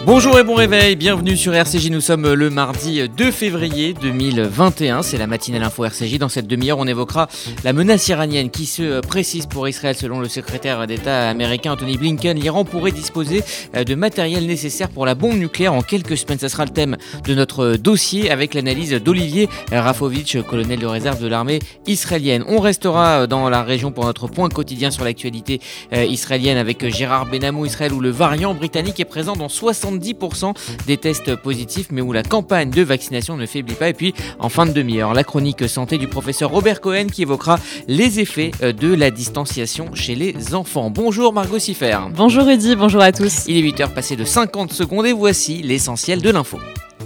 Bonjour et bon réveil, bienvenue sur RCJ, nous sommes le mardi 2 février 2021, c'est la matinale info RCJ. Dans cette demi-heure, on évoquera la menace iranienne qui se précise pour Israël. Selon le secrétaire d'État américain Antony Blinken, l'Iran pourrait disposer de matériel nécessaire pour la bombe nucléaire en quelques semaines. Ça sera le thème de notre dossier avec l'analyse d'Olivier Rafovitch, colonel de réserve de l'armée israélienne. On restera dans la région pour notre point quotidien sur l'actualité israélienne avec Gérard Benamou, Israël où le variant britannique est présent dans 70% des tests positifs, mais où la campagne de vaccination ne faiblit pas. Et puis, en fin de demi-heure, la chronique santé du professeur Robert Cohen qui évoquera les effets de la distanciation chez les enfants. Bonjour Margot Siffer. Bonjour Rudy, bonjour à tous. Il est 8h passé de 50 secondes et voici l'essentiel de l'info.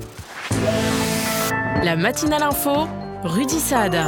La matinale info, Rudy Saad.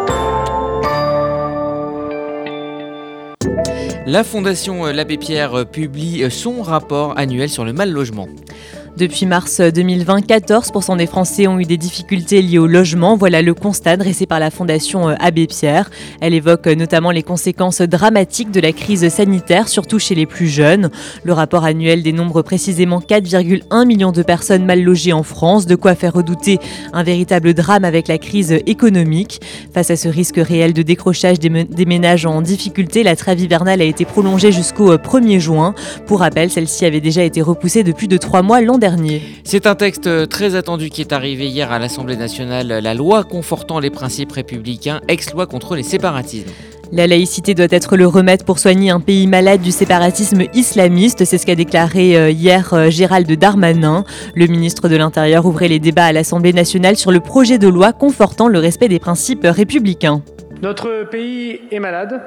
La Fondation l'Abbé Pierre publie son rapport annuel sur le mal-logement. Depuis mars 2020, 14% des Français ont eu des difficultés liées au logement. Voilà le constat dressé par la Fondation Abbé Pierre. Elle évoque notamment les conséquences dramatiques de la crise sanitaire, surtout chez les plus jeunes. Le rapport annuel dénombre précisément 4,1 millions de personnes mal logées en France, de quoi faire redouter un véritable drame avec la crise économique. Face à ce risque réel de décrochage des ménages en difficulté, la trêve hivernale a été prolongée jusqu'au 1er juin. Pour rappel, celle-ci avait déjà été repoussée de plus de 3 mois l'an dernier. C'est un texte très attendu qui est arrivé hier à l'Assemblée nationale, la loi confortant les principes républicains, ex-loi contre les séparatismes. La laïcité doit être le remède pour soigner un pays malade du séparatisme islamiste. C'est ce qu'a déclaré hier Gérald Darmanin. Le ministre de l'Intérieur ouvrait les débats à l'Assemblée nationale sur le projet de loi confortant le respect des principes républicains. Notre pays est malade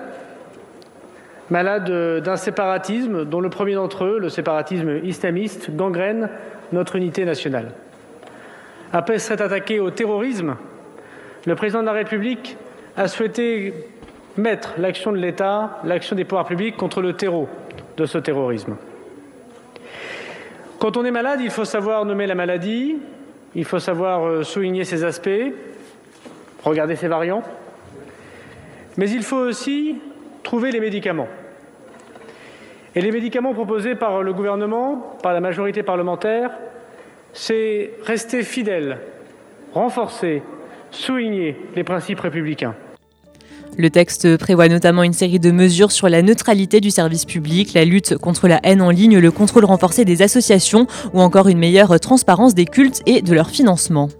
d'un séparatisme dont le premier d'entre eux, le séparatisme islamiste, gangrène notre unité nationale. Après s'être attaqué au terrorisme, le président de la République a souhaité mettre l'action de l'État, l'action des pouvoirs publics contre le terreau de ce terrorisme. Quand on est malade, il faut savoir nommer la maladie, il faut savoir souligner ses aspects, regarder ses variants, mais il faut aussi trouver les médicaments. Et les médicaments proposés par le gouvernement, par la majorité parlementaire, c'est rester fidèle, renforcer, souligner les principes républicains. Le texte prévoit notamment une série de mesures sur la neutralité du service public, la lutte contre la haine en ligne, le contrôle renforcé des associations ou encore une meilleure transparence des cultes et de leur financement.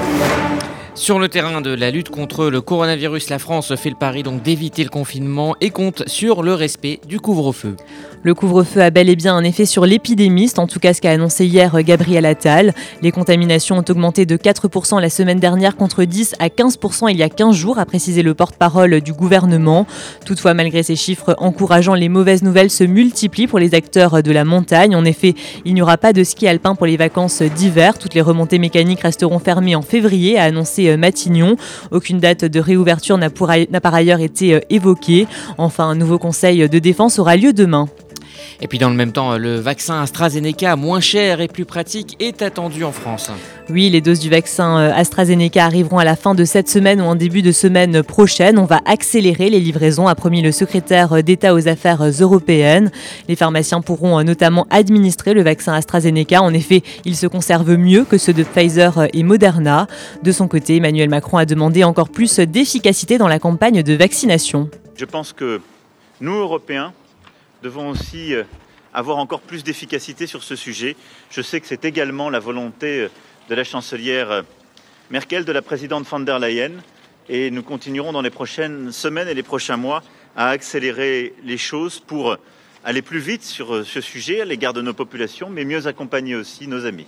Sur le terrain de la lutte contre le coronavirus, la France fait le pari donc d'éviter le confinement et compte sur le respect du couvre-feu. Le couvre-feu a bel et bien un effet sur l'épidémie, c'est en tout cas ce qu'a annoncé hier Gabriel Attal. Les contaminations ont augmenté de 4% la semaine dernière contre 10 à 15% il y a 15 jours, a précisé le porte-parole du gouvernement. Toutefois, malgré ces chiffres encourageants, les mauvaises nouvelles se multiplient pour les acteurs de la montagne. En effet, il n'y aura pas de ski alpin pour les vacances d'hiver. Toutes les remontées mécaniques resteront fermées en février, a annoncé Matignon. Aucune date de réouverture n'a par ailleurs été évoquée. Enfin, un nouveau conseil de défense aura lieu demain. Et puis dans le même temps, le vaccin AstraZeneca, moins cher et plus pratique, est attendu en France. Oui, les doses du vaccin AstraZeneca arriveront à la fin de cette semaine ou en début de semaine prochaine. On va accélérer les livraisons, a promis le secrétaire d'État aux affaires européennes. Les pharmaciens pourront notamment administrer le vaccin AstraZeneca. En effet, il se conserve mieux que ceux de Pfizer et Moderna. De son côté, Emmanuel Macron a demandé encore plus d'efficacité dans la campagne de vaccination. Je pense que nous, Européens, devons aussi avoir encore plus d'efficacité sur ce sujet. Je sais que c'est également la volonté de la chancelière Merkel, de la présidente von der Leyen, et nous continuerons dans les prochaines semaines et les prochains mois à accélérer les choses pour aller plus vite sur ce sujet à l'égard de nos populations, mais mieux accompagner aussi nos amis.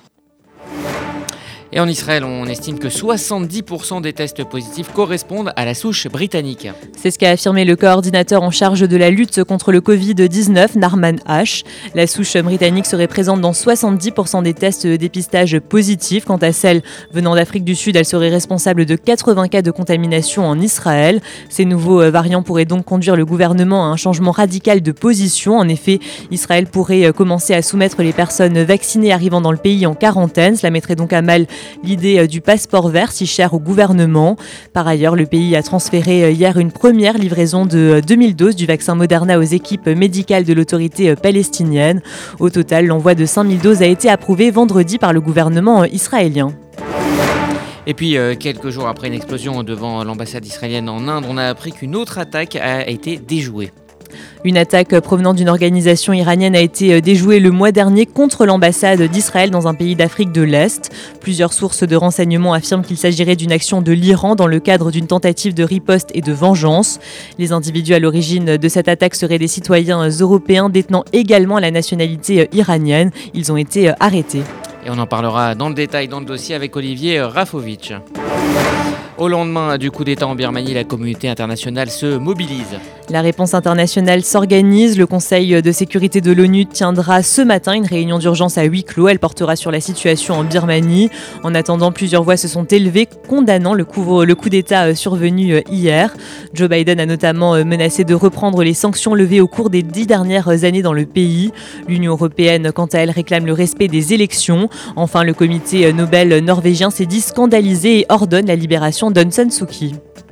Et en Israël, on estime que 70% des tests positifs correspondent à la souche britannique. C'est ce qu'a affirmé le coordinateur en charge de la lutte contre le Covid-19, Narman H. La souche britannique serait présente dans 70% des tests de dépistage positifs. Quant à celle venant d'Afrique du Sud, elle serait responsable de 80 cas de contamination en Israël. Ces nouveaux variants pourraient donc conduire le gouvernement à un changement radical de position. En effet, Israël pourrait commencer à soumettre les personnes vaccinées arrivant dans le pays en quarantaine. Cela mettrait donc à mal l'idée du passeport vert si cher au gouvernement. Par ailleurs, le pays a transféré hier une première livraison de 2000 doses du vaccin Moderna aux équipes médicales de l'autorité palestinienne. Au total, l'envoi de 5000 doses a été approuvé vendredi par le gouvernement israélien. Et puis, quelques jours après une explosion devant l'ambassade israélienne en Inde, on a appris qu'une autre attaque a été déjouée. Une attaque provenant d'une organisation iranienne a été déjouée le mois dernier contre l'ambassade d'Israël dans un pays d'Afrique de l'Est. Plusieurs sources de renseignements affirment qu'il s'agirait d'une action de l'Iran dans le cadre d'une tentative de riposte et de vengeance. Les individus à l'origine de cette attaque seraient des citoyens européens détenant également la nationalité iranienne. Ils ont été arrêtés. Et on en parlera dans le détail dans le dossier avec Olivier Rafovitch. Au lendemain du coup d'État en Birmanie, la communauté internationale se mobilise. La réponse internationale s'organise. Le Conseil de sécurité de l'ONU tiendra ce matin une réunion d'urgence à huis clos. Elle portera sur la situation en Birmanie. En attendant, plusieurs voix se sont élevées condamnant le coup d'État survenu hier. Joe Biden a notamment menacé de reprendre les sanctions levées au cours des 10 dernières années dans le pays. L'Union européenne, quant à elle, réclame le respect des élections. Enfin, le comité Nobel norvégien s'est dit scandalisé et ordonne la libération d'Aung San Suu Kyi.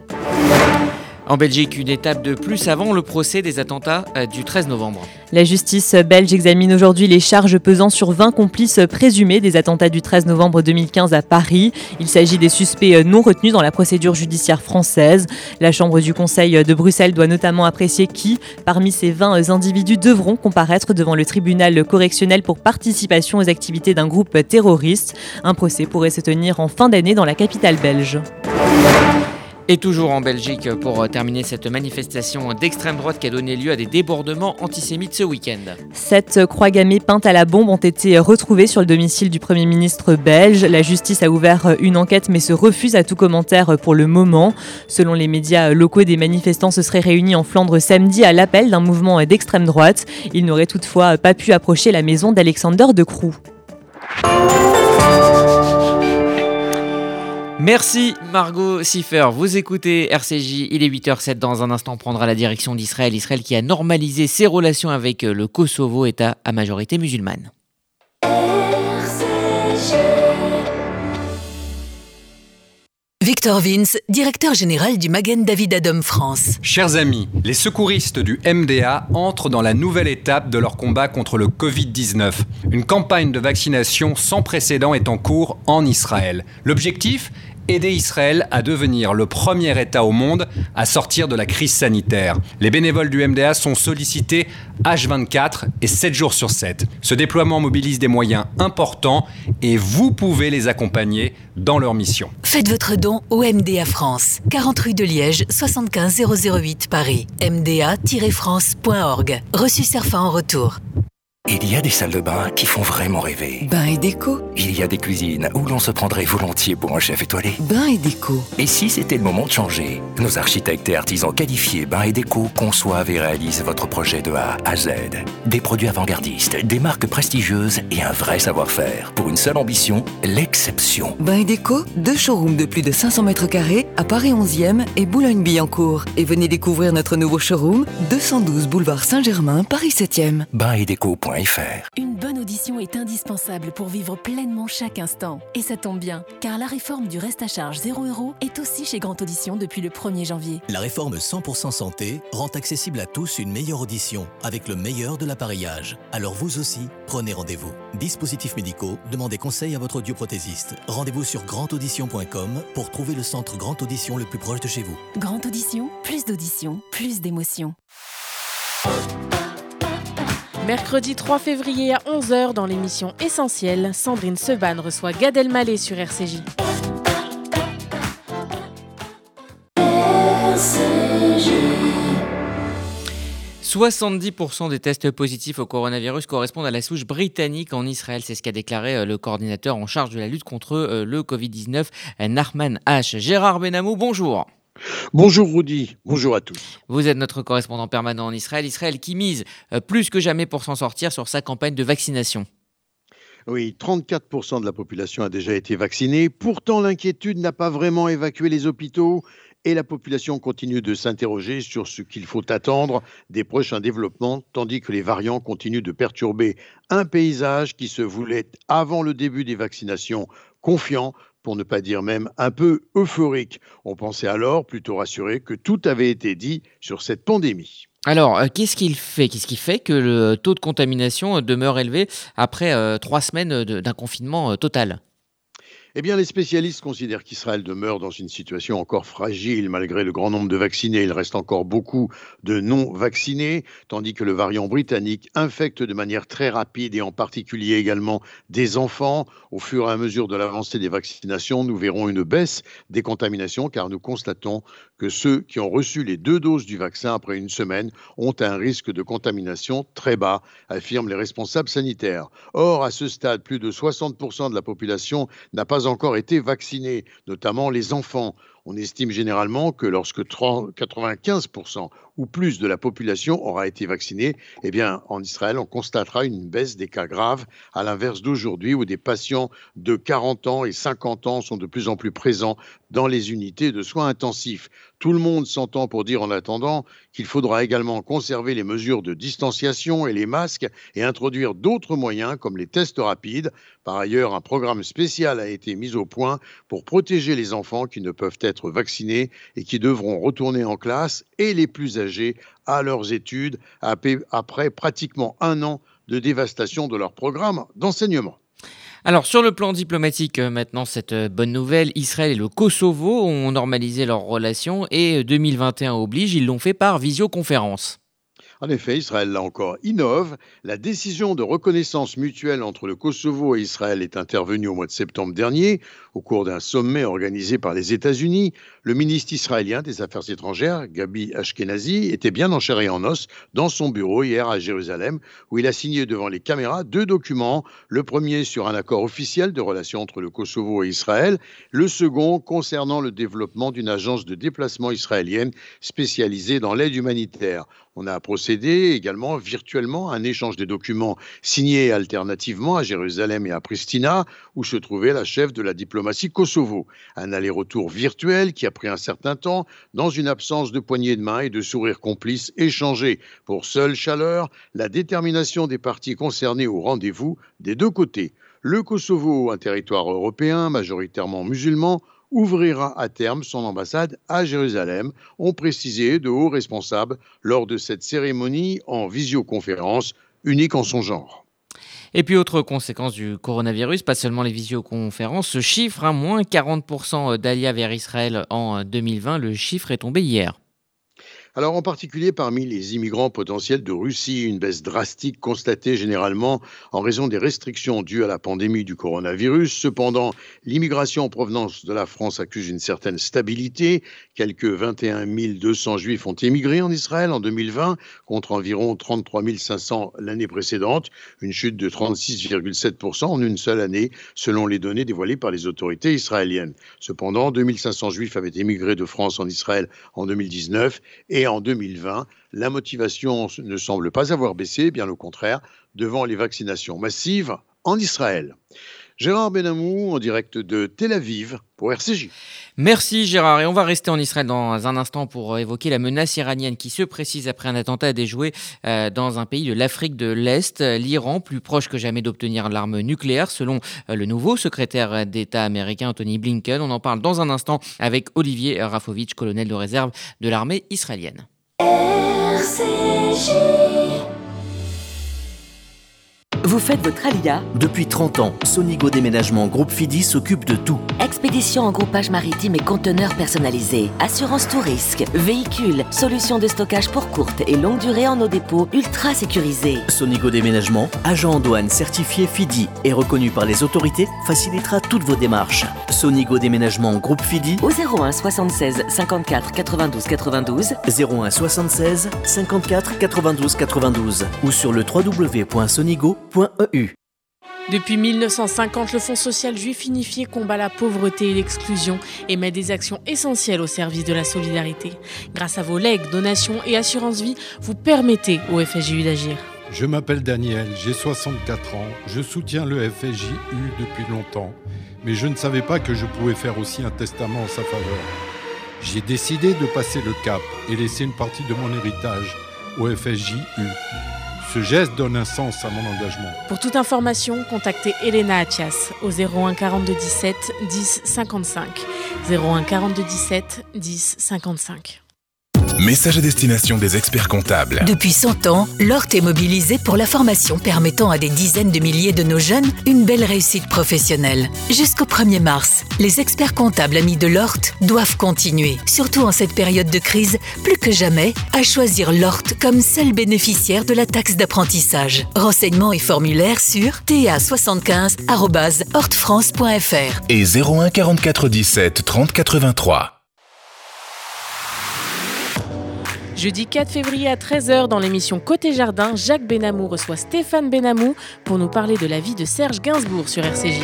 En Belgique, une étape de plus avant le procès des attentats du 13 novembre. La justice belge examine aujourd'hui les charges pesant sur 20 complices présumés des attentats du 13 novembre 2015 à Paris. Il s'agit des suspects non retenus dans la procédure judiciaire française. La Chambre du Conseil de Bruxelles doit notamment apprécier qui, parmi ces 20 individus, devront comparaître devant le tribunal correctionnel pour participation aux activités d'un groupe terroriste. Un procès pourrait se tenir en fin d'année dans la capitale belge. Et toujours en Belgique, pour terminer cette manifestation d'extrême droite qui a donné lieu à des débordements antisémites ce week-end. 7 croix gammées peintes à la bombe ont été retrouvées sur le domicile du Premier ministre belge. La justice a ouvert une enquête mais se refuse à tout commentaire pour le moment. Selon les médias locaux, des manifestants se seraient réunis en Flandre samedi à l'appel d'un mouvement d'extrême droite. Ils n'auraient toutefois pas pu approcher la maison d'Alexander De Croo. Merci Margot Siffer, vous écoutez RCJ, il est 8h07, dans un instant on prendra la direction d'Israël. Israël qui a normalisé ses relations avec le Kosovo, État à majorité musulmane. Victor Vince, directeur général du Magen David Adom France. Chers amis, les secouristes du MDA entrent dans la nouvelle étape de leur combat contre le Covid-19. Une campagne de vaccination sans précédent est en cours en Israël. L'objectif ? Aider Israël à devenir le premier État au monde à sortir de la crise sanitaire. Les bénévoles du MDA sont sollicités H24 et 7 jours sur 7. Ce déploiement mobilise des moyens importants et vous pouvez les accompagner dans leur mission. Faites votre don au MDA France, 40 rue de Liège, 75 008 Paris. mda-france.org. Reçu Cerfa en retour. Il y a des salles de bain qui font vraiment rêver. Bain et déco. Il y a des cuisines où l'on se prendrait volontiers pour un chef étoilé. Bain et déco. Et si c'était le moment de changer ? Nos architectes et artisans qualifiés Bain et Déco conçoivent et réalisent votre projet de A à Z. Des produits avant-gardistes, des marques prestigieuses et un vrai savoir-faire. Pour une seule ambition, l'exception. Bain et déco, 2 showrooms de plus de 500 mètres carrés à Paris 11e et Boulogne-Billancourt. Et venez découvrir notre nouveau showroom, 212 boulevard Saint-Germain, Paris 7e. Bainetdeco.fr. Une bonne audition est indispensable pour vivre pleinement chaque instant. Et ça tombe bien, car la réforme du reste à charge 0 € est aussi chez Grand Audition depuis le 1er janvier. La réforme 100% santé rend accessible à tous une meilleure audition avec le meilleur de l'appareillage. Alors vous aussi, prenez rendez-vous. Dispositifs médicaux, demandez conseil à votre audioprothésiste. Rendez-vous sur grandaudition.com pour trouver le centre Grand Audition le plus proche de chez vous. Grand Audition, plus d'audition, plus d'émotion. Mercredi 3 février à 11h dans l'émission Essentielle, Sandrine Seban reçoit Gad Elmaleh sur RCJ. 70% des tests positifs au coronavirus correspondent à la souche britannique en Israël. C'est ce qu'a déclaré le coordinateur en charge de la lutte contre le Covid-19, Nachman H. Gérard Benamou, bonjour. Bonjour Rudy, bonjour à tous. Vous êtes notre correspondant permanent en Israël. Israël qui mise plus que jamais pour s'en sortir sur sa campagne de vaccination. Oui, 34% de la population a déjà été vaccinée. Pourtant, l'inquiétude n'a pas vraiment évacué les hôpitaux et la population continue de s'interroger sur ce qu'il faut attendre des prochains développements, tandis que les variants continuent de perturber un paysage qui se voulait, avant le début des vaccinations, confiants, pour ne pas dire même un peu euphoriques. On pensait alors, plutôt rassuré, que tout avait été dit sur cette pandémie. Alors, qu'est-ce qui fait que le taux de contamination demeure élevé après 3 semaines d'un confinement total ? Eh bien, les spécialistes considèrent qu'Israël demeure dans une situation encore fragile malgré le grand nombre de vaccinés. Il reste encore beaucoup de non-vaccinés, tandis que le variant britannique infecte de manière très rapide et en particulier également des enfants. Au fur et à mesure de l'avancée des vaccinations, nous verrons une baisse des contaminations car nous constatons que ceux qui ont reçu les 2 doses du vaccin après une semaine ont un risque de contamination très bas, affirment les responsables sanitaires. Or, à ce stade, plus de 60% de la population n'a pas encore été vaccinés, notamment les enfants. On estime généralement que lorsque 95% ou plus de la population aura été vaccinée, eh bien, en Israël, on constatera une baisse des cas graves, à l'inverse d'aujourd'hui où des patients de 40 ans et 50 ans sont de plus en plus présents dans les unités de soins intensifs. Tout le monde s'entend pour dire en attendant qu'il faudra également conserver les mesures de distanciation et les masques et introduire d'autres moyens comme les tests rapides. Par ailleurs, un programme spécial a été mis au point pour protéger les enfants qui ne peuvent être vaccinés et qui devront retourner en classe et les plus âgés à leurs études après pratiquement 1 an de dévastation de leur programme d'enseignement. Alors, sur le plan diplomatique, maintenant, cette bonne nouvelle, Israël et le Kosovo ont normalisé leurs relations et 2021 oblige, ils l'ont fait par visioconférence. En effet, Israël, là encore, innove. La décision de reconnaissance mutuelle entre le Kosovo et Israël est intervenue au mois de septembre dernier, au cours d'un sommet organisé par les États-Unis. Le ministre israélien des Affaires étrangères, Gabi Ashkenazi, était bien en chair et en os dans son bureau hier à Jérusalem, où il a signé devant les caméras 2 documents. Le premier sur un accord officiel de relations entre le Kosovo et Israël, le second concernant le développement d'une agence de déplacement israélienne spécialisée dans l'aide humanitaire. On a procédé également virtuellement à un échange des documents signés alternativement à Jérusalem et à Pristina, où se trouvait la chef de la diplomatie Kosovo. Un aller-retour virtuel qui a pris un certain temps, dans une absence de poignées de main et de sourires complices échangés. Pour seule chaleur, la détermination des parties concernées au rendez-vous des 2 côtés. Le Kosovo, un territoire européen majoritairement musulman, ouvrira à terme son ambassade à Jérusalem, ont précisé de hauts responsables lors de cette cérémonie en visioconférence, unique en son genre. Et puis, autre conséquence du coronavirus, pas seulement les visioconférences, ce chiffre, moins 40% d'Alia vers Israël en 2020, le chiffre est tombé hier. Alors en particulier parmi les immigrants potentiels de Russie, une baisse drastique constatée généralement en raison des restrictions dues à la pandémie du coronavirus. Cependant, l'immigration en provenance de la France accuse une certaine stabilité. Quelques 21 200 juifs ont émigré en Israël en 2020 contre environ 33 500 l'année précédente, une chute de 36,7% en une seule année selon les données dévoilées par les autorités israéliennes. Cependant, 2500 juifs avaient émigré de France en Israël en 2019 et en 2020, la motivation ne semble pas avoir baissé, bien au contraire, devant les vaccinations massives en Israël. Gérard Benamou en direct de Tel Aviv pour RCJ. Merci Gérard, et on va rester en Israël dans un instant pour évoquer la menace iranienne qui se précise après un attentat déjoué dans un pays de l'Afrique de l'Est, l'Iran, plus proche que jamais d'obtenir l'arme nucléaire selon le nouveau secrétaire d'État américain Antony Blinken. On en parle dans un instant avec Olivier Rafovitch, colonel de réserve de l'armée israélienne. RCJ. Vous faites votre alia? Depuis 30 ans, Sonigo Déménagement Groupe Fidi s'occupe de tout. Expédition en groupage maritime et conteneurs personnalisés. Assurance tout risque. Véhicules. Solutions de stockage pour courte et longue durée en nos dépôts ultra sécurisés. Sonigo Déménagement, agent en douane certifié Fidi et reconnu par les autorités, facilitera toutes vos démarches. Sonigo Déménagement Groupe Fidi au 01 76 54 92 92 01 76 54 92 92 ou sur le www.sonigo.eu. Depuis 1950, le Fonds social juif unifié combat la pauvreté et l'exclusion et met des actions essentielles au service de la solidarité. Grâce à vos legs, donations et assurances vie, vous permettez au FSJU d'agir. Je m'appelle Daniel, j'ai 64 ans, je soutiens le FSJU depuis longtemps, mais je ne savais pas que je pouvais faire aussi un testament en sa faveur. J'ai décidé de passer le cap et laisser une partie de mon héritage au FSJU. Ce geste donne un sens à mon engagement. Pour toute information, contactez Elena Atias au 01 42 17 10 55. 01 42 17 10 55. Message à destination des experts comptables. Depuis 100 ans, l'ORT est mobilisé pour la formation permettant à des dizaines de milliers de nos jeunes une belle réussite professionnelle. Jusqu'au 1er mars, les experts comptables amis de l'ORT doivent continuer, surtout en cette période de crise, plus que jamais, à choisir l'ORT comme seul bénéficiaire de la taxe d'apprentissage. Renseignements et formulaires sur ta75@ortfrance.fr et 01 44 17 30 83. Jeudi 4 février à 13h dans l'émission Côté Jardin, Jacques Benamou reçoit Stéphane Benamou pour nous parler de la vie de Serge Gainsbourg sur RCJ.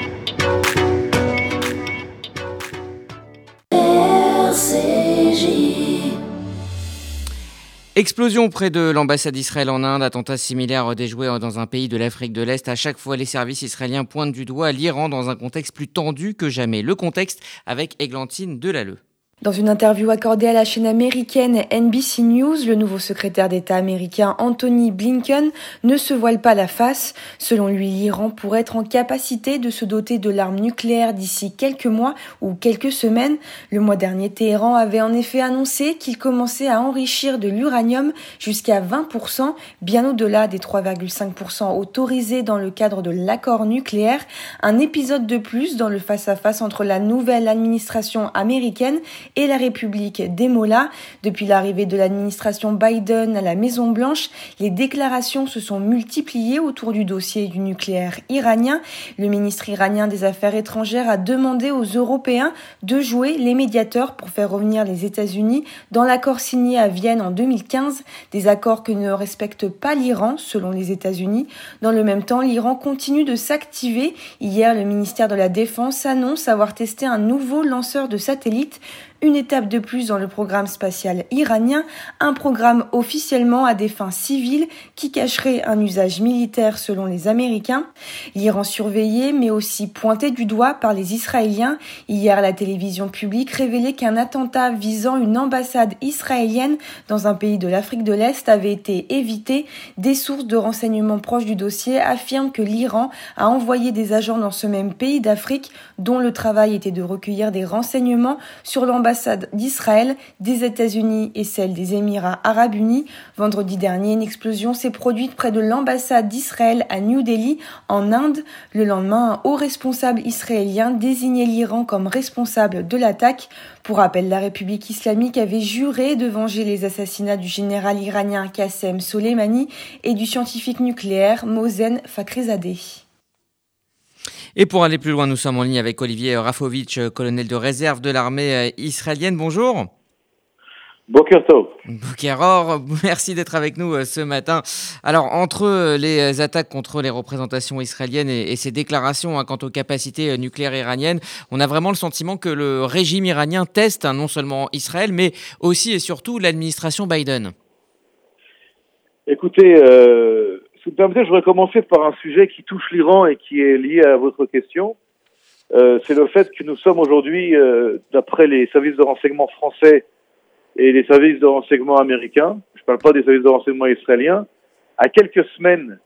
Explosion près de l'ambassade d'Israël en Inde, attentat similaire déjoué dans un pays de l'Afrique de l'Est. À chaque fois, les services israéliens pointent du doigt l'Iran dans un contexte plus tendu que jamais. Le contexte avec Églantine Delalleux. Dans une interview accordée à la chaîne américaine NBC News, le nouveau secrétaire d'État américain Anthony Blinken ne se voile pas la face. Selon lui, l'Iran pourrait être en capacité de se doter de l'arme nucléaire d'ici quelques mois ou quelques semaines. Le mois dernier, Téhéran avait en effet annoncé qu'il commençait à enrichir de l'uranium jusqu'à 20%, bien au-delà des 3,5% autorisés dans le cadre de l'accord nucléaire. Un épisode de plus dans le face-à-face entre la nouvelle administration américaine et la République des Mollahs. Depuis l'arrivée de l'administration Biden à la Maison-Blanche, les déclarations se sont multipliées autour du dossier du nucléaire iranien. Le ministre iranien des Affaires étrangères a demandé aux Européens de jouer les médiateurs pour faire revenir les États-Unis dans l'accord signé à Vienne en 2015, des accords que ne respecte pas l'Iran, selon les États-Unis. Dans le même temps, l'Iran continue de s'activer. Hier, le ministère de la Défense annonce avoir testé un nouveau lanceur de satellites. Une étape de plus dans le programme spatial iranien, un programme officiellement à des fins civiles qui cacherait un usage militaire selon les Américains. L'Iran surveillé mais aussi pointé du doigt par les Israéliens. Hier, la télévision publique révélait qu'un attentat visant une ambassade israélienne dans un pays de l'Afrique de l'Est avait été évité. Des sources de renseignements proches du dossier affirment que l'Iran a envoyé des agents dans ce même pays d'Afrique dont le travail était de recueillir des renseignements sur l'ambassade d'Israël, des États-Unis et celle des Émirats arabes unis. Vendredi dernier, une explosion s'est produite près de l'ambassade d'Israël à New Delhi, en Inde. Le lendemain, un haut responsable israélien désignait l'Iran comme responsable de l'attaque. Pour rappel, la République islamique avait juré de venger les assassinats du général iranien Qassem Soleimani et du scientifique nucléaire Mohsen Fakhrizadeh. Et pour aller plus loin, nous sommes en ligne avec Olivier Rafovitch, colonel de réserve de l'armée israélienne. Bonjour. Boker Tov. Boker Or, merci d'être avec nous ce matin. Alors, entre les attaques contre les représentations israéliennes et ces déclarations quant aux capacités nucléaires iraniennes, on a vraiment le sentiment que le régime iranien teste non seulement Israël, mais aussi et surtout l'administration Biden. Écoutez, si vous permettez, je voudrais commencer par un sujet qui touche l'Iran et qui est lié à votre question. C'est le fait que nous sommes aujourd'hui, d'après les services de renseignement français et les services de renseignement américains, je ne parle pas des services de renseignement israéliens, à quelques semaines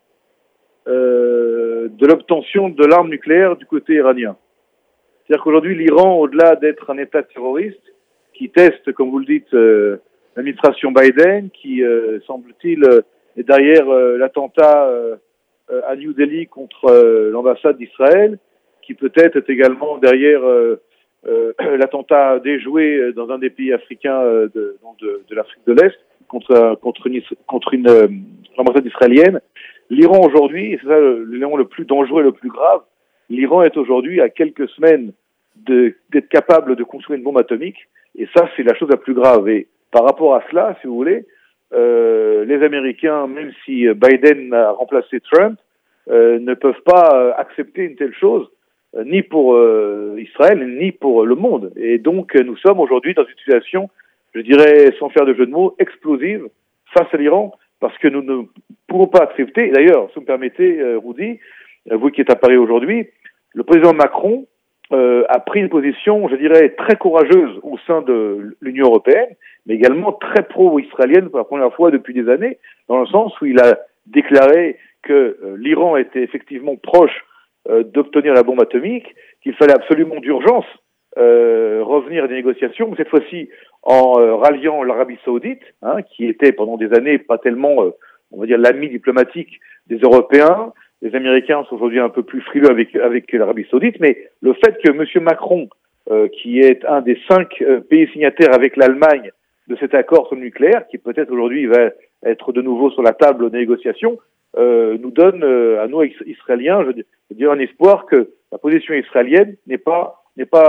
de l'obtention de l'arme nucléaire du côté iranien. C'est-à-dire qu'aujourd'hui, l'Iran, au-delà d'être un État terroriste, qui teste, comme vous le dites, l'administration Biden, qui, semble-t-il, est derrière l'attentat à New Delhi contre l'ambassade d'Israël, qui peut-être est également derrière l'attentat déjoué dans un des pays africains de l'Afrique de l'Est contre une ambassade israélienne. L'Iran aujourd'hui, et c'est ça l'élément le plus dangereux et le plus grave, l'Iran est aujourd'hui à quelques semaines d'être capable de construire une bombe atomique, et ça c'est la chose la plus grave. Et par rapport à cela, si vous voulez, les Américains, même si Biden a remplacé Trump, ne peuvent pas accepter une telle chose, ni pour Israël, ni pour le monde. Et donc, nous sommes aujourd'hui dans une situation, je dirais, sans faire de jeu de mots, explosive face à l'Iran, parce que nous ne pourrons pas accepter, et d'ailleurs, si vous me permettez, Rudy, vous qui êtes à Paris aujourd'hui, le président Macron a pris une position, je dirais, très courageuse au sein de l'Union européenne, mais également très pro-israélienne pour la première fois depuis des années, dans le sens où il a déclaré que l'Iran était effectivement proche d'obtenir la bombe atomique, qu'il fallait absolument d'urgence revenir à des négociations, mais cette fois-ci en ralliant l'Arabie Saoudite, qui était pendant des années pas tellement, on va dire, l'ami diplomatique des Européens. Les Américains sont aujourd'hui un peu plus frileux avec l'Arabie Saoudite, mais le fait que M. Macron, qui est un des 5 pays signataires avec l'Allemagne de cet accord sur le nucléaire, qui peut-être aujourd'hui va être de nouveau sur la table de négociation, nous donne à nous Israéliens, je dirais, un espoir que la position israélienne n'est pas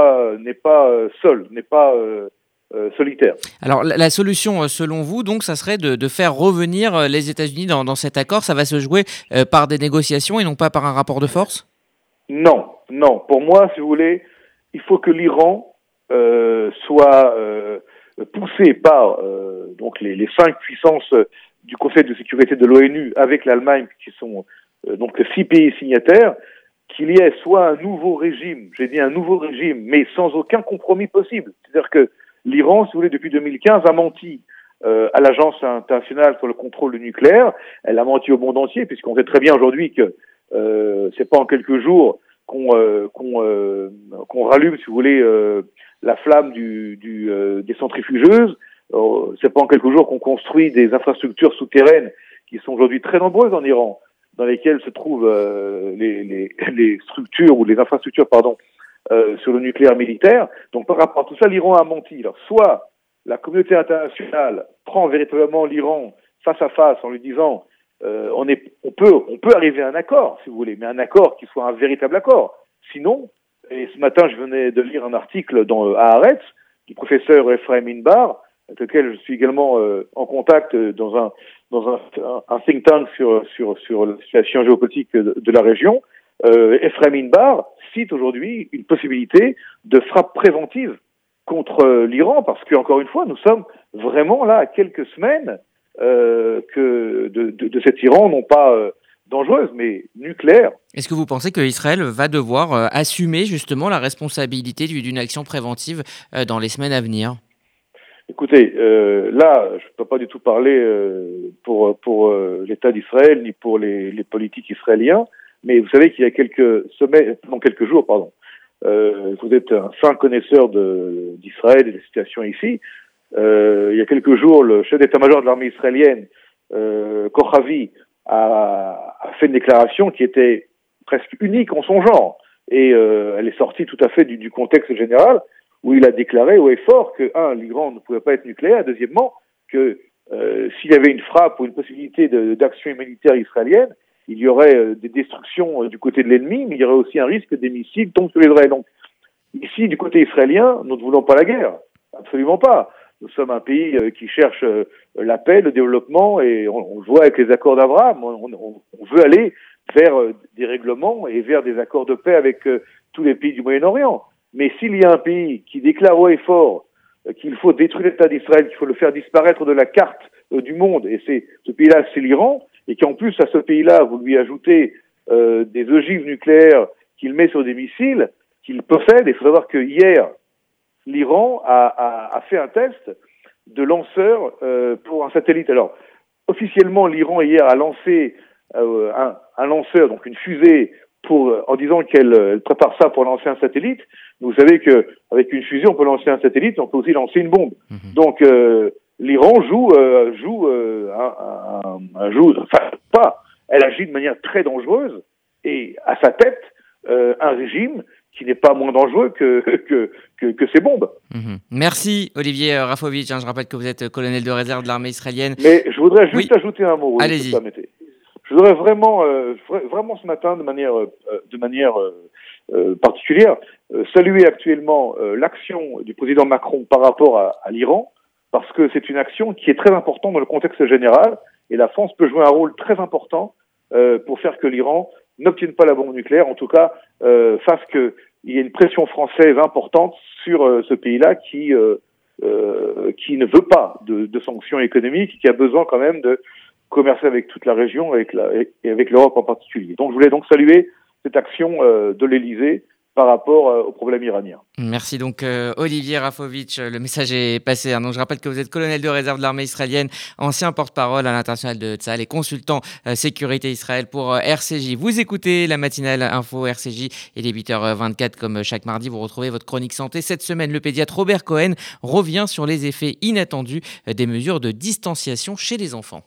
seule, n'est pas solitaire. Alors la solution, selon vous, donc, ça serait de faire revenir les États-Unis dans cet accord. Ça va se jouer par des négociations et non pas par un rapport de force ? Non. Pour moi, si vous voulez, il faut que l'Iran soit poussé par donc les 5 puissances du Conseil de sécurité de l'ONU avec l'Allemagne, qui sont donc 6 pays signataires, qu'il y ait soit un nouveau régime, j'ai dit un nouveau régime, mais sans aucun compromis possible. C'est-à-dire que l'Iran, si vous voulez, depuis 2015, a menti à l'Agence internationale sur le contrôle du nucléaire. Elle a menti au monde entier, puisqu'on sait très bien aujourd'hui que c'est pas en quelques jours qu'on rallume, si vous voulez, la flamme des centrifugeuses. C'est pas en quelques jours qu'on construit des infrastructures souterraines qui sont aujourd'hui très nombreuses en Iran, dans lesquelles se trouvent les structures ou les infrastructures, sur le nucléaire militaire. Donc par rapport à tout ça, l'Iran a menti. Alors soit la communauté internationale prend véritablement l'Iran face à face en lui disant on peut arriver à un accord, si vous voulez, mais un accord qui soit un véritable accord. Sinon, et ce matin je venais de lire un article dans Haaretz du professeur Ephraim Inbar, avec lequel je suis également en contact dans un think tank sur la situation géopolitique de la région. Ephraim Inbar cite aujourd'hui une possibilité de frappe préventive contre l'Iran, parce que, encore une fois, nous sommes vraiment là à quelques semaines de cet Iran, non pas dangereuse, mais nucléaire. Est-ce que vous pensez qu'Israël va devoir assumer justement la responsabilité d'une action préventive dans les semaines à venir ? Écoutez, là, je ne peux pas du tout parler pour l'État d'Israël ni pour les politiques israéliens, mais vous savez qu'il y a quelques jours, vous êtes un fin connaisseur d'Israël et des situations ici. Il y a quelques jours, le chef d'état-major de l'armée israélienne, Kochavi, a fait une déclaration qui était presque unique en son genre, et elle est sortie tout à fait du contexte général, où il a déclaré haut et fort que, l'Iran ne pouvait pas être nucléaire, deuxièmement, que s'il y avait une frappe ou une possibilité d'action militaire israélienne, il y aurait des destructions du côté de l'ennemi, mais il y aurait aussi un risque que des missiles tombent sur Israël. Donc, ici, du côté israélien, nous ne voulons pas la guerre. Absolument pas. Nous sommes un pays qui cherche la paix, le développement, et on le voit avec les accords d'Abraham. On veut aller vers des règlements et vers des accords de paix avec tous les pays du Moyen-Orient. Mais s'il y a un pays qui déclare haut et fort qu'il faut détruire l'État d'Israël, qu'il faut le faire disparaître de la carte du monde, et ce pays-là, c'est l'Iran, et qu'en plus, à ce pays-là, vous lui ajoutez des ogives nucléaires qu'il met sur des missiles qu'il possède. Il faut savoir que hier, l'Iran a fait un test de lanceur pour un satellite. Alors, officiellement, l'Iran, hier, a lancé un lanceur, donc une fusée, en disant qu'elle prépare ça pour lancer un satellite. Vous savez qu'avec une fusée, on peut lancer un satellite, on peut aussi lancer une bombe. Donc, l'Iran elle agit de manière très dangereuse, et à sa tête, un régime qui n'est pas moins dangereux que ces bombes. Merci Olivier Rafovitch. Je rappelle que vous êtes colonel de réserve de l'armée israélienne. Mais je voudrais juste ajouter un mot. Allez-y. Je voudrais vraiment ce matin, de manière particulière, saluer actuellement l'action du président Macron par rapport à l'Iran, parce que c'est une action qui est très importante dans le contexte général, et la France peut jouer un rôle très important pour faire que l'Iran n'obtienne pas la bombe nucléaire, en tout cas fasse qu'il y ait une pression française importante sur ce pays-là qui ne veut pas de sanctions économiques, qui a besoin quand même de commercer avec toute la région et avec l'Europe en particulier. Donc je voulais donc saluer cette action de l'Élysée par rapport au problème iranien. Merci donc Olivier Rafovitch, le message est passé. Donc je rappelle que vous êtes colonel de réserve de l'armée israélienne, ancien porte-parole à l'international de Tsahal et consultant sécurité Israël pour RCJ. Vous écoutez la matinale info RCJ, il est 8h24 comme chaque mardi. Vous retrouvez votre chronique santé. Cette semaine, le pédiatre Robert Cohen revient sur les effets inattendus des mesures de distanciation chez les enfants.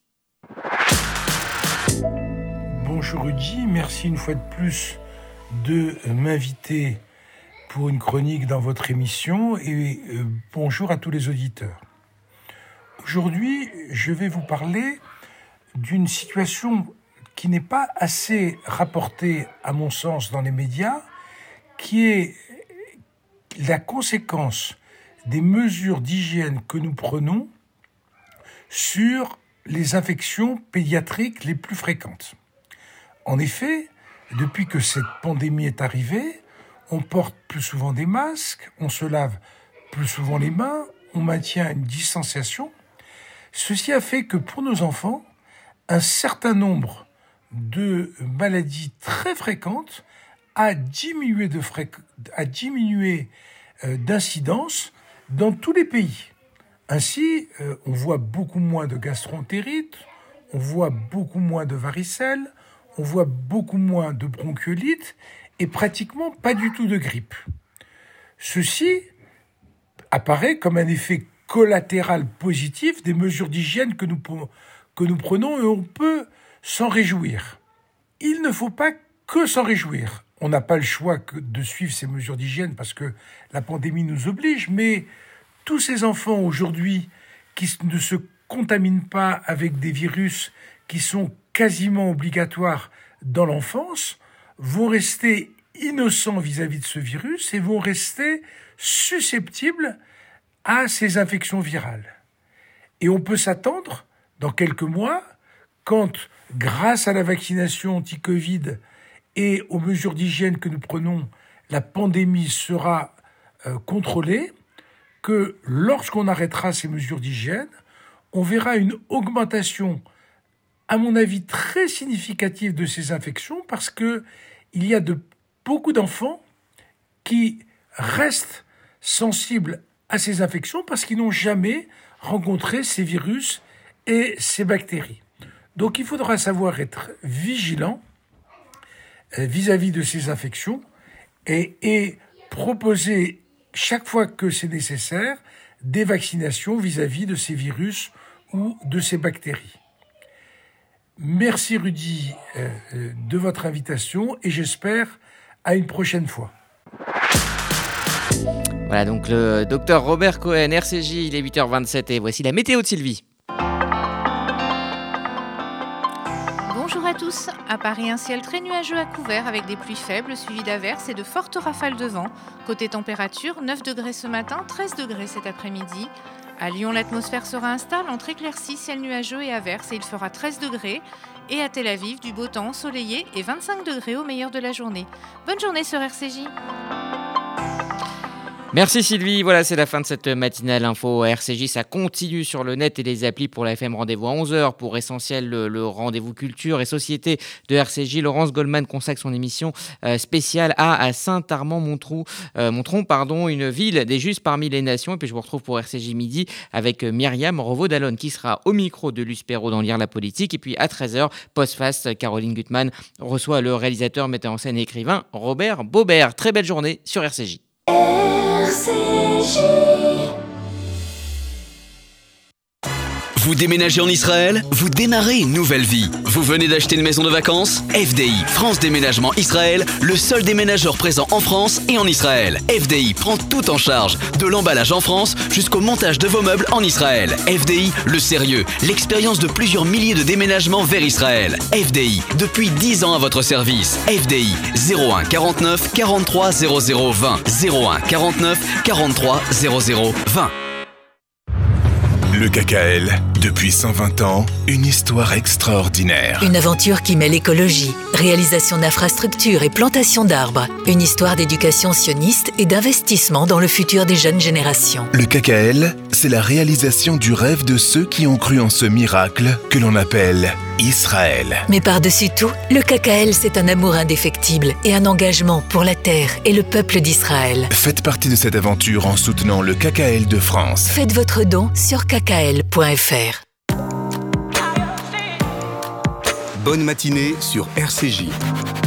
Bonjour Rudy, merci une fois de plus de m'inviter pour une chronique dans votre émission et bonjour à tous les auditeurs. Aujourd'hui, je vais vous parler d'une situation qui n'est pas assez rapportée, à mon sens, dans les médias, qui est la conséquence des mesures d'hygiène que nous prenons sur les infections pédiatriques les plus fréquentes. En effet, depuis que cette pandémie est arrivée, on porte plus souvent des masques, on se lave plus souvent les mains, on maintient une distanciation. Ceci a fait que pour nos enfants, un certain nombre de maladies très fréquentes a diminué d'incidence dans tous les pays. Ainsi, on voit beaucoup moins de gastroentérite, on voit beaucoup moins de varicelle, on voit beaucoup moins de bronchiolite et pratiquement pas du tout de grippe. Ceci apparaît comme un effet collatéral positif des mesures d'hygiène que nous prenons et on peut s'en réjouir. Il ne faut pas que s'en réjouir. On n'a pas le choix que de suivre ces mesures d'hygiène parce que la pandémie nous oblige, mais tous ces enfants aujourd'hui qui ne se contaminent pas avec des virus qui sont quasiment obligatoires dans l'enfance, vont rester innocents vis-à-vis de ce virus et vont rester susceptibles à ces infections virales. Et on peut s'attendre, dans quelques mois, quand, grâce à la vaccination anti-Covid et aux mesures d'hygiène que nous prenons, la pandémie sera contrôlée, que lorsqu'on arrêtera ces mesures d'hygiène, on verra une augmentation, à mon avis, très significative de ces infections parce qu'il y a beaucoup d'enfants qui restent sensibles à ces infections parce qu'ils n'ont jamais rencontré ces virus et ces bactéries. Donc il faudra savoir être vigilant vis-à-vis de ces infections et proposer chaque fois que c'est nécessaire des vaccinations vis-à-vis de ces virus ou de ces bactéries. Merci Rudy de votre invitation et j'espère à une prochaine fois. Voilà donc le docteur Robert Cohen, RCJ, il est 8h27 et voici la météo de Sylvie. Bonjour à tous. À Paris, un ciel très nuageux à couvert avec des pluies faibles suivies d'averses et de fortes rafales de vent. Côté température, 9 degrés ce matin, 13 degrés cet après-midi. À Lyon, l'atmosphère sera instable entre éclaircies, ciel nuageux et averses et il fera 13 degrés. Et à Tel Aviv, du beau temps ensoleillé et 25 degrés au meilleur de la journée. Bonne journée sur RCJ. Merci Sylvie, voilà c'est la fin de cette matinale info RCJ, ça continue sur le net et les applis pour la FM. Rendez-vous à 11h pour Essentiel, le rendez-vous culture et société de RCJ. Laurence Goldman consacre son émission spéciale à Saint-Armand-Montron, une ville des justes parmi les nations. Et puis je vous retrouve pour RCJ midi avec Myriam Revaud-Dallon qui sera au micro de Luce Perrault dans Lire la politique. Et puis à 13h, post-fast, Caroline Gutmann reçoit le réalisateur, metteur en scène et écrivain Robert Baubert. Très belle journée sur RCJ. Vous déménagez en Israël? Vous démarrez une nouvelle vie. Vous venez d'acheter une maison de vacances? FDI, France Déménagement Israël, le seul déménageur présent en France et en Israël. FDI prend tout en charge, de l'emballage en France jusqu'au montage de vos meubles en Israël. FDI, le sérieux, l'expérience de plusieurs milliers de déménagements vers Israël. FDI, depuis 10 ans à votre service. FDI, 01 49 43 00 20. 01 49 43 00 20. Le KKL Depuis 120 ans, une histoire extraordinaire. Une aventure qui mêle écologie, réalisation d'infrastructures et plantation d'arbres. Une histoire d'éducation sioniste et d'investissement dans le futur des jeunes générations. Le KKL, c'est la réalisation du rêve de ceux qui ont cru en ce miracle que l'on appelle Israël. Mais par-dessus tout, le KKL, c'est un amour indéfectible et un engagement pour la terre et le peuple d'Israël. Faites partie de cette aventure en soutenant le KKL de France. Faites votre don sur kkl.fr. Bonne matinée sur RCJ.